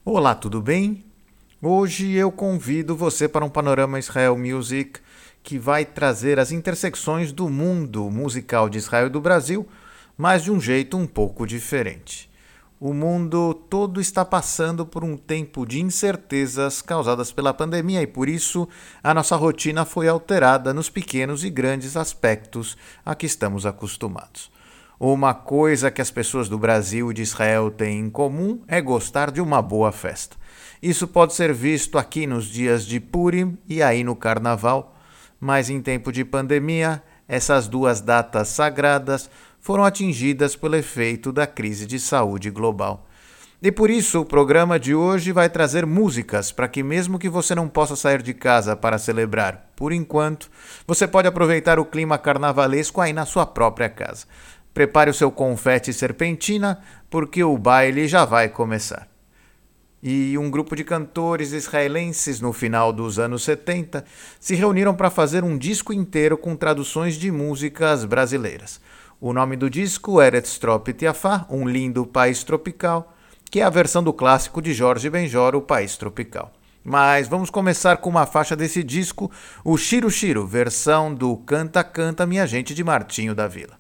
Olá, tudo bem? Hoje eu convido você para um Panorama Israel Music que vai trazer as intersecções do mundo musical de Israel e do Brasil, mas de um jeito um pouco diferente. O mundo todo está passando por um tempo de incertezas causadas pela pandemia e por isso a nossa rotina foi alterada nos pequenos e grandes aspectos a que estamos acostumados. Uma coisa que as pessoas do Brasil e de Israel têm em comum é gostar de uma boa festa. Isso pode ser visto aqui nos dias de Purim e aí no Carnaval, mas em tempo de pandemia, essas duas datas sagradas foram atingidas pelo efeito da crise de saúde global. E por isso o programa de hoje vai trazer músicas para que mesmo que você não possa sair de casa para celebrar, por enquanto, você pode aproveitar o clima carnavalesco aí na sua própria casa. Prepare o seu confete e serpentina, porque o baile já vai começar. E um grupo de cantores israelenses no final dos anos 70 se reuniram para fazer um disco inteiro com traduções de músicas brasileiras. O nome do disco é Eretz Tropit Yafá, Um Lindo País Tropical, que é a versão do clássico de Jorge Benjor, O País Tropical. Mas vamos começar com uma faixa desse disco, o Shiro Shiro, versão do Canta Canta Minha Gente de Martinho da Vila.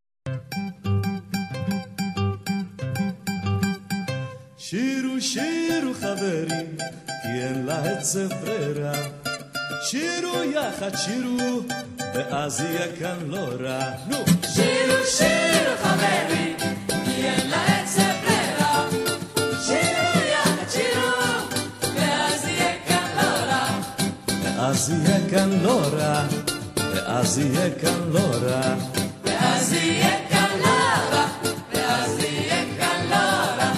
שירו שירו חברים, כי אין לה עצב ברירה. שירו יחד שירו, ואז יהיה כאן לא רע. נו! שירו שירו חברים, כי אין לה עצב ברירה. שירו יחד שירו, ואז יהיה כאן לא רע. ואז יהיה כאן לא רע. ואז יהיה כאן לא רע. ואז יהיה כאן לא רע. ואז יהיה כאן לא רע.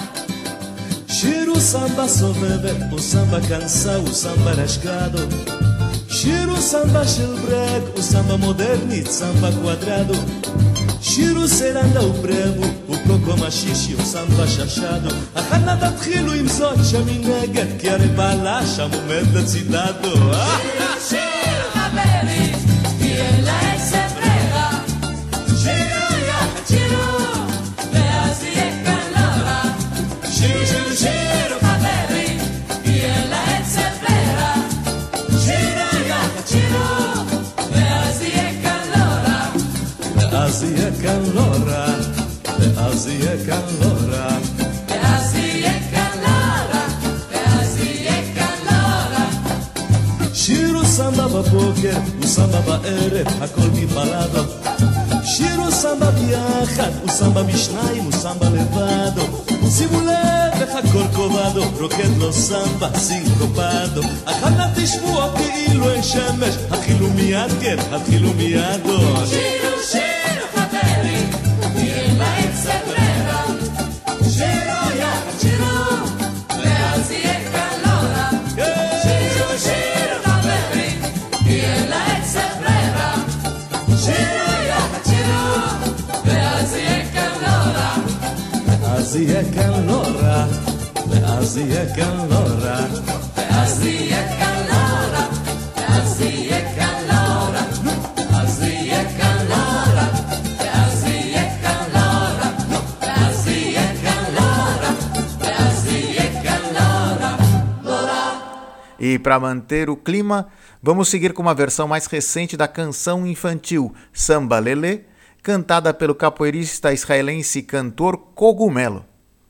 Shiro samba soveve, o samba cansa, o samba rasgado. Shiro samba של breg, o samba moderni, samba quadrado. Shiro seranda o brevo, o coco machixe, o samba chachado. החנה תתחילו עם זאת שמנגד, כי הרי בעלה שם עומד לצידדו. שירו שירו חברים, כי אין לה עצב ברירה. שירו יחד שירו, ואז יהיה כאן לא רע. שירו שירו שירו חברים, כי אין לה עצב ברירה. שירו יחד שירו, ואז יהיה כאן לא רע. ואז יהיה כאן לא רע. ואז יהיה כאן לא רע. ואז יהיה כאן לא רע. ואז יהיה כאן לא רע. שירו סמבה בבוקר, וסמבה בערב, הכל מבלדו. שירו סמבה ביחד, וסמבה משניים, וסמבה לבדו. שימו לב איך הכל קובדו, רוקד לו סמבה, סינקופדו. החנה תשמעו כאילו אין שמש, התחילו מיד כן, התחילו מידו. שירו שירו חברים, כי אין לה עצב ברירה. שירו יחד שירו, ואז יהיה כאן לא רע. שירו שירו חברים, כי אין לה עצב ברירה. שירו יחד שירו, ואז יהיה כאן לא רע. ואז יהיה כאן לא רע. ואז יהיה כאן לא רע. ואז יהיה כאן לא רע. ואז יהיה כאן לא רע. ואז יהיה כאן לא רע. ואז יהיה כאן לא רע. ואז יהיה כאן לא רע. ואז יהיה כאן לא רע. לא רע. E para manter o clima, vamos seguir com uma versão mais recente da canção infantil Samba Lelê, cantada pelo capoeirista israelense e cantor Cogumelo.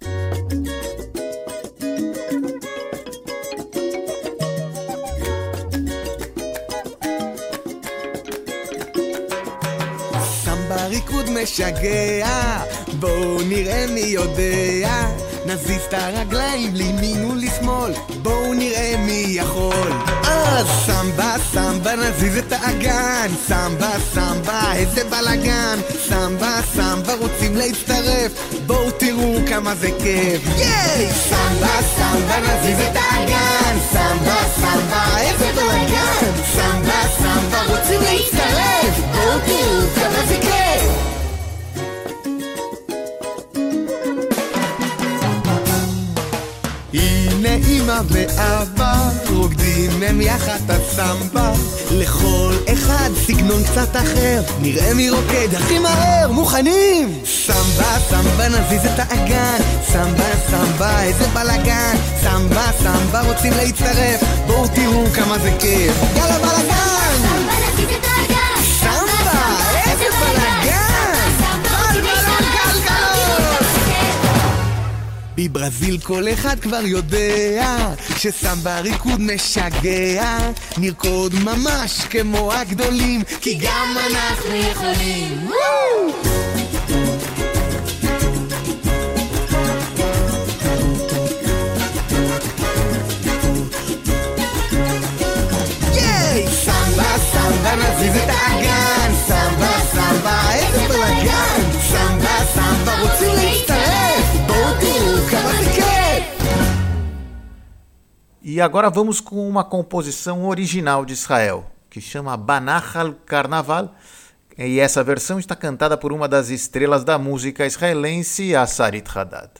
סמבה ריקוד משגע, בואו נראה מי יודע, נזיז את הרגליים לימין ולשמאל, בואו נראה מי יכול. אז סמבה סמבה נזיז את האגן, סמבה סמבה איזה בלגן, סמבה סמבה רוצים להצטרף, בואו תראו כמה זה כיף. ייי! סמבה סמבה נזיז את האגן, סמבה סמבה איזה בלגן, סמבה סמבה רוצים להצטרף, בואו תראו כמה זה כיף. הנה אמא ואבא רוקדים הם יחד את הסמבה, לכל אחד סגנון קצת אחר, נראה מי רוקד הכי מהר. מוכנים? סמבה סמבה נזיז את האגן, סמבה סמבה איזה בלגן, סמבה סמבה רוצים להצטרף, בואו תראו כמה זה כיף. יאללה בלגן, סמבה נזיז את האגן, סמבה איזה בלגן, בלבלון גלגלות. בברזיל כל אחד כבר יודע שסמבה ריקוד משגע, נרקוד ממש כמו הגדולים, כי גם אנחנו יכולים. סמבה סמבה נזיז את האגן, סמבה סמבה איזה בלגן, סמבה סמבה רוצים להצטרף, בואו תראו כמה זה כיף. E agora vamos com uma composição original de Israel, que chama Banachal Carnaval, e essa versão está cantada por uma das estrelas da música israelense, a Sarit Haddad.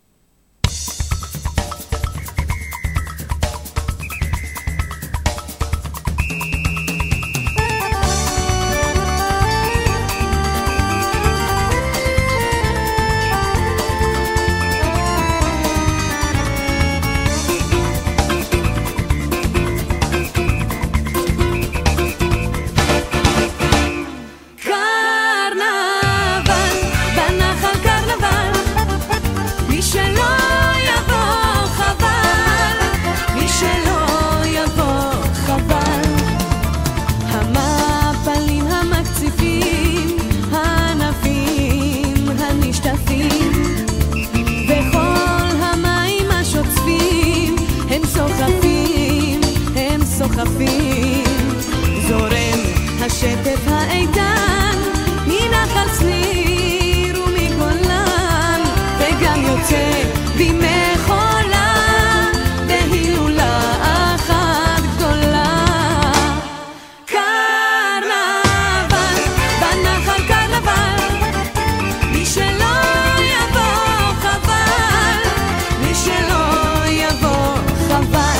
זורם השטף האיתן מנחל צניר ומגולן, וגם יוצא בימי חולה בהילולה אחת גדולה. קרנבל בנחל קרנבל, מי שלא יבוא חבל, מי שלא יבוא חבל.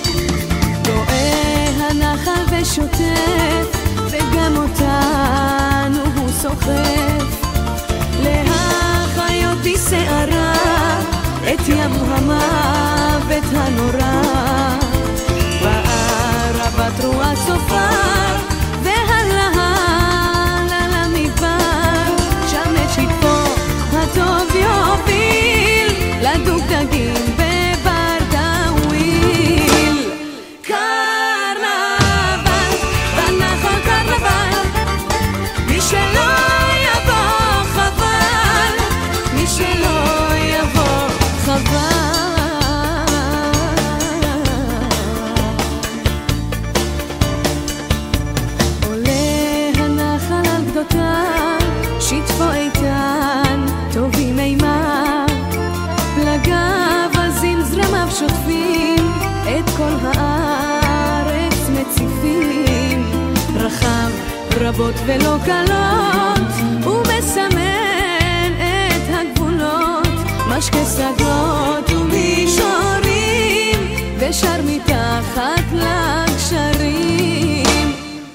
שוטף וגם אותנו הוא סוחף, להחיות בשערה את ים המוות הנורא, בערבת רוח צופר והלהל על המדבר, שם את שטפו הטוב יוביל לדוגדגים בבר דאוויל. מי שלא יבוא חבל, מי שלא יבוא חבל. עולה הנחל על גדותיו, שטפו איתן, טובים מימיו, פלגיו עזים זרמיו שוטפים, את כל הארץ מציפים, רחב רבות ולא קלות, הוא מסמן את הגבולות, משקה סגות ומישורים, ושר מתחת לגשרים.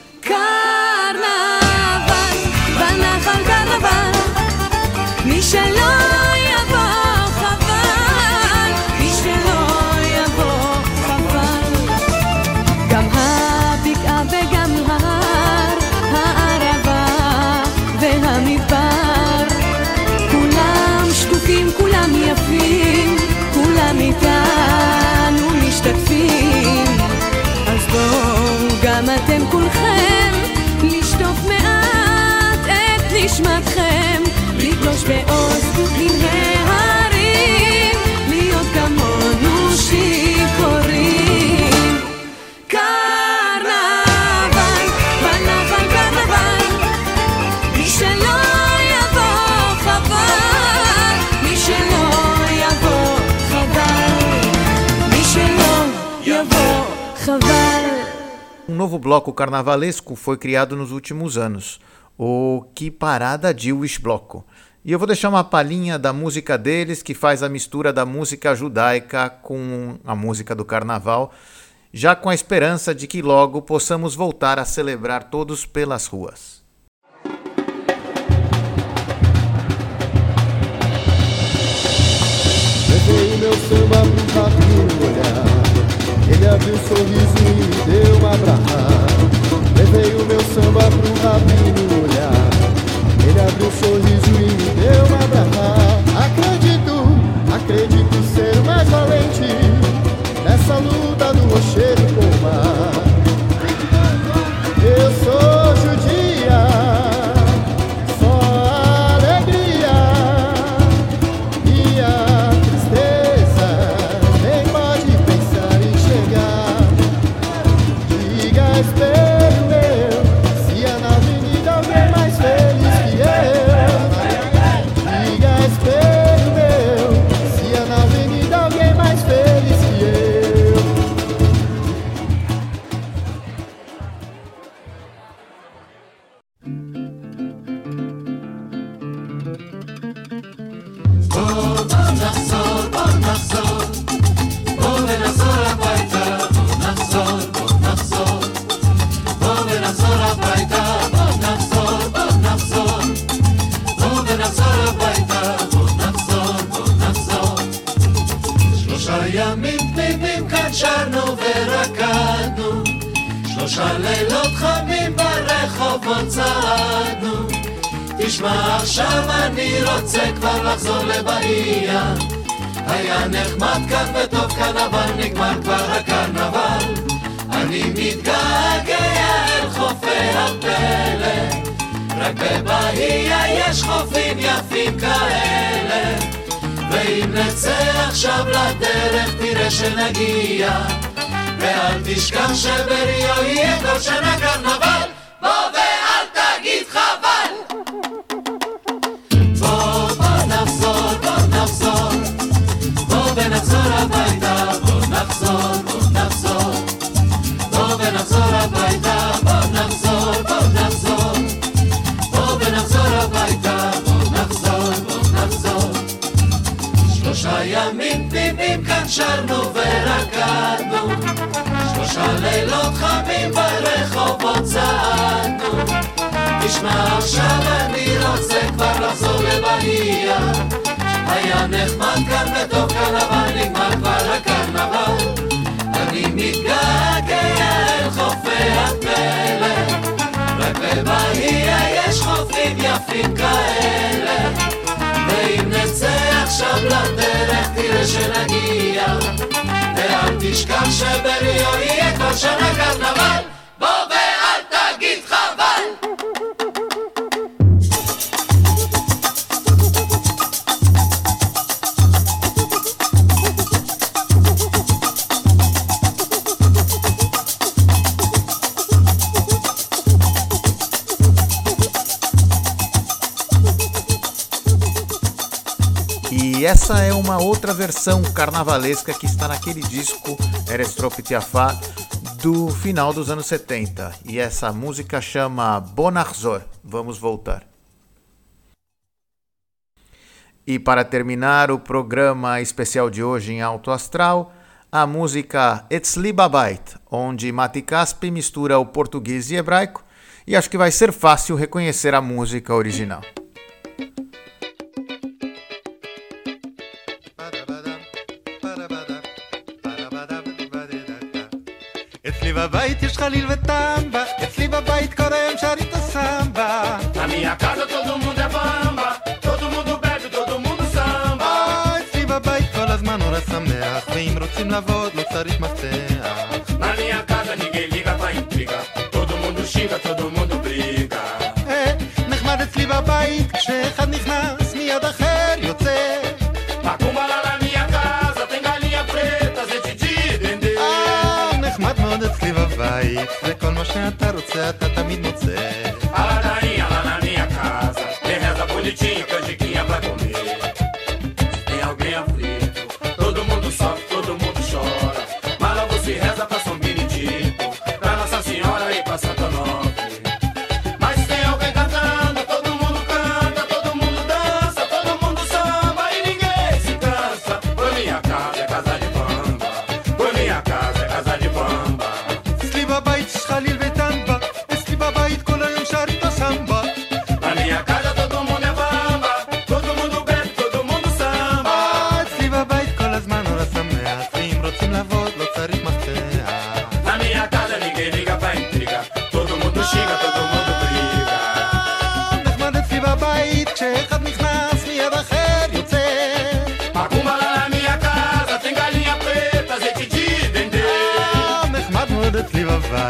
קרנבל בנחל קרנבל, מי שלא יבוא חבל, מי שלא יבוא חבל. גם הבקעה וגם ההר, הערבה והמדבר, כולם שקופים, כולם יפים, כולם איתנו משתתפים. אז בואו גם אתם כולכם לשטוף מעט את נשמתכם, לגלוש בעוז מן ההרים, להיות כמונו שיכורים. קרנבל בנחל קרנבל, מי שלא יבוא חבל, מי שלא יבוא חבל, מי שלא יבוא חבל. Um novo bloco carnavalesco foi criado nos últimos anos, o Que Parada Jewish Bloco. E eu vou deixar uma palhinha da música deles, que faz a mistura da música judaica com a música do carnaval. já com a esperança de que logo possamos voltar a celebrar todos pelas ruas. Levei o meu samba pro rapinho olhar, ele abriu um sorriso e me deu um abraço. Levei o meu samba pro rapinho olhar, ele abriu um sorriso e me deu um abraço. Acredito ser o mais valente nessa luta do rochedo com o mar. Eu sou judia, só a alegria e a tristeza nem pode pensar em chegar. Diga, espelho meu, se há na avenida alguém mais feliz que eu. Diga, espelho meu, se há na avenida alguém mais feliz que eu. ימים תמימים כאן שרנו ורקדנו, 3 לילות חמים ברחובות צעדנו. תשמע עכשיו אני רוצה כבר לחזור לבעיה, היה נחמד כאן וטוב כאן אבל נגמר כבר הקרנבל. אני מתגעגע אל חופי הפלא, רק בבעיה יש חופים יפים כאלה. ואם נצא עכשיו לדרך תראה שנגיע, ואל תשכח שבריו יהיה כל שנה קרנבל. בוא ואל תגיד חבל. בוא נחזור, בוא ונחזור הביתה. בוא נחזור, בוא ונחזור הביתה. בוא נחזור, בוא ונחזור הביתה. בוא נחזור. 3 ימים תמימים כאן שרנו ורקדנו, 3 לילות חמים ברחובות צעדנו. תשמע עכשיו אני רוצה כבר לחזור לבעיה, היה נחמד כאן וטוב כאן אבל נגמר כבר הקרנבל. אני מתגעגע אל חופי הפלא, רק בבעיה יש חופים יפים כאלה. ואם נצא עכשיו לדרך תראה שנגיע, ואל תשכח שבריו יהיה כל שנה קרנבל. בוא ואל תגיד חבל. E essa é uma outra versão carnavalesca que está naquele disco Erestrop Tiafá do final dos anos 70. E essa música chama Bonarzor. Vamos voltar. E para terminar o programa especial de hoje em Alto Astral, a música Etzli Babait, onde Mati Caspi mistura o português e hebraico, e acho que vai ser fácil reconhecer a música original. אצלי בבית יש חליל וטמבה, אצלי בבית כל היום שרים את הסמבה. Na minha casa todo mundo é bamba, todo mundo bebe, todo mundo samba. אצלי בבית כל הזמן נורא שמח, ואם רוצים לעבוד לא צריך מפתח. Na minha casa ninguém liga pra intriga, todo mundo xinga, todo mundo briga. נחמד אצלי בבית, כשאחד נכנס מיד אחר יוצא. Macumba lá na minha casa tem galinha preta, gente de dendê. נחמד מאוד אצלי בבית, וכל מה שאתה רוצה אתה תמיד מוצא. A ladainha lá na minha casa tem reza bonitinha, canjiquinha pra comer. Tem alguém aflito, todo mundo sofre, todo mundo chora. Mas logo se reza pra São Benedito, pra Nossa Senhora e pra Santo Onofre. Mas tem alguém cantando, todo mundo canta, todo mundo dança, todo mundo samba e ninguém se cansa. Por minha casa é casa de bamba, por minha casa é casa de bamba.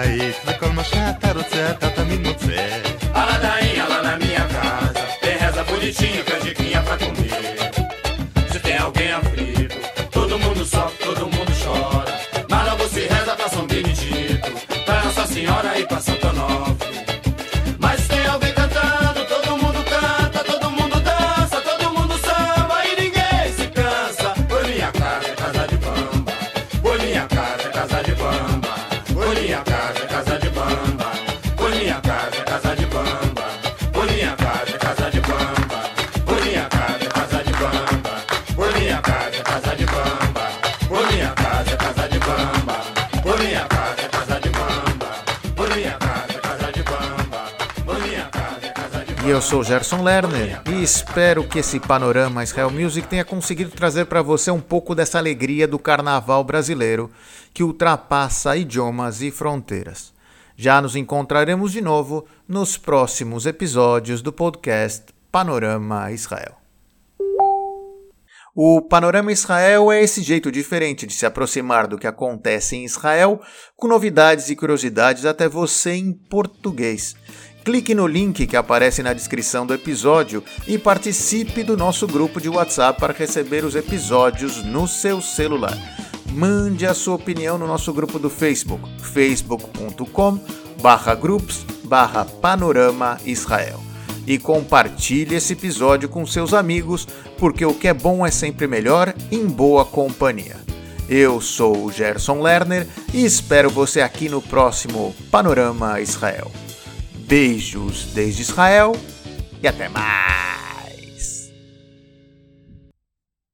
בבית, וכל מה שאתה רוצה אתה תמיד מוצא. A ladainha lá na minha casa tem reza bonitinha, canjiquinha pra comer. Se tem alguém aflito, todo mundo sofre, todo mundo chora. Mas logo se reza pra São Benedito, pra Nossa Senhora e pra Santo Onofre. Mas se tem alguém cantando, todo mundo canta, todo mundo dança, todo mundo samba e ninguém se cansa. Por minha casa é casa de bamba, por minha casa é casa de bamba, por minha casa é casa de bamba, por minha casa é casa de bamba, por minha casa é casa de bamba, por minha casa é casa de bamba, por minha casa é casa de bamba, por minha casa é casa de bamba, por minha casa é casa de bamba, por minha casa é casa de bamba, por minha casa é casa de bamba. E eu sou Gerson Lerner e espero que esse Panorama Israel Music tenha conseguido trazer para você um pouco dessa alegria do carnaval brasileiro que ultrapassa idiomas e fronteiras. Já nos encontraremos de novo nos próximos episódios do podcast Panorama Israel. O Panorama Israel é esse jeito diferente de se aproximar do que acontece em Israel, com novidades e curiosidades até você em português. Clique no link que aparece na descrição do episódio e participe do nosso grupo de WhatsApp para receber os episódios no seu celular. Mande a sua opinião no nosso grupo do Facebook, facebook.com/groups/Panorama Israel. E compartilhe esse episódio com seus amigos, porque o que é bom é sempre melhor em boa companhia. Eu sou o Gerson Lerner e espero você aqui no próximo Panorama Israel. Beijos desde Israel e até mais!